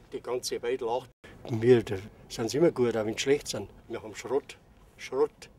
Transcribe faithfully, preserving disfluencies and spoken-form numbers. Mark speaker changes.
Speaker 1: Die ganze Welt lacht. Wir sind immer gut, auch wenn sie schlecht sind. Wir haben Schrott. Schrott.